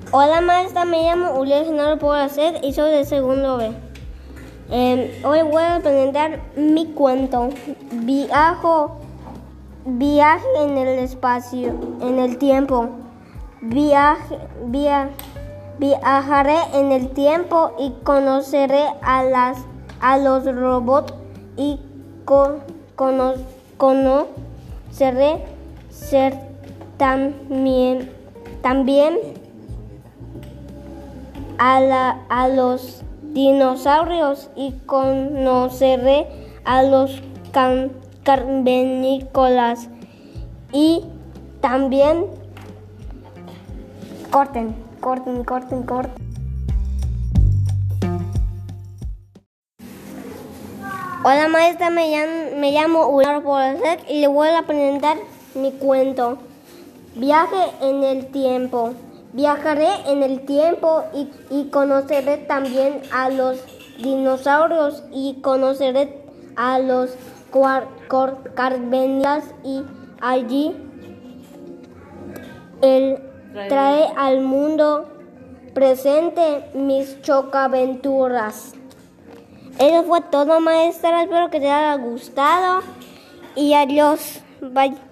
Hola maestra, me llamo Uliel Genaro Poracer y soy de segundo B. Hoy voy a presentar mi cuento, Viaje en el espacio, en el tiempo. Viajaré en el tiempo y conoceré a los robots y conoceré también a los dinosaurios y conoceré a los cavernícolas y también corten. Hola maestra, me llamo Uliel Poracer y le voy a presentar mi cuento, Viaje en el tiempo. Viajaré en el tiempo y conoceré también a los dinosaurios y conoceré a los cavernícolas y allí él trae al mundo presente mis chocaventuras. Eso fue todo, maestra. Espero que te haya gustado y adiós. Bye.